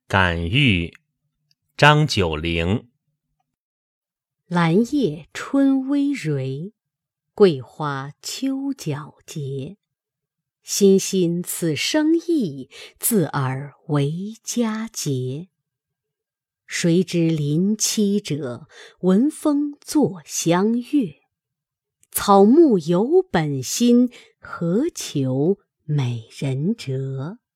感遇，张九龄。 兰叶春微蕤，桂花秋皎洁。欣欣此生意，自尔为佳节。谁知林栖者，闻风作相悦。草木有本心，何求美人折？